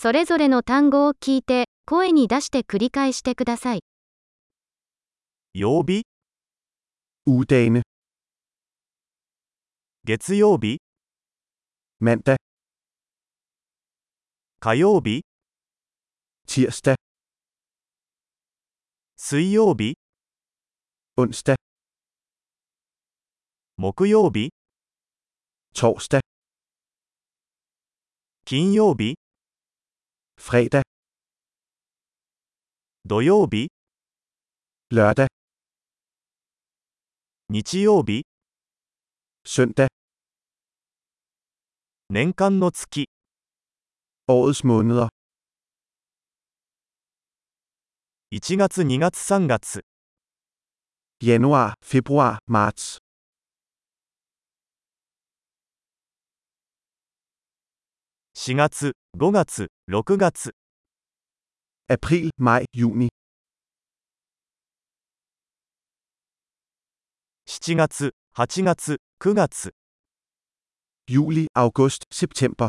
それぞれの単語を聞いて、声に出して繰り返してください。 曜日、 Ugedagene. 月曜日、 Mandag. 火曜日、 Tirsdag. 水曜日、 Onsdag. 木曜日、 Torsdag. 金曜日、 Fredag. 土曜日、 Lørdag. 日曜日、 Søndag. 年間の月、 Årets måneder. 1月2月3月、 Januar, februar, marts. 4月、5月、6月、 April, maj, juni. 7月、8月、9月、 Juli, august, september.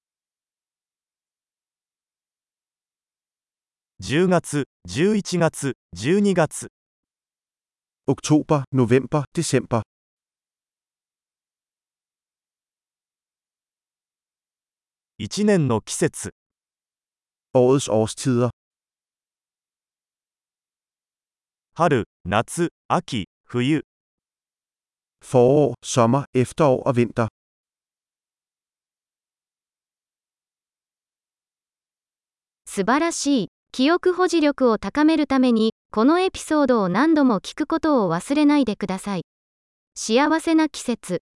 10月、11月、12月、 Oktober, november, december. 1年の季節、 Årets årstider. 春、夏、秋、冬、 Forår, sommer, efterår og vinter. 素晴らしい。記憶保持力を高めるために、このエピソードを何度も聞くことを忘れないでください。幸せな季節。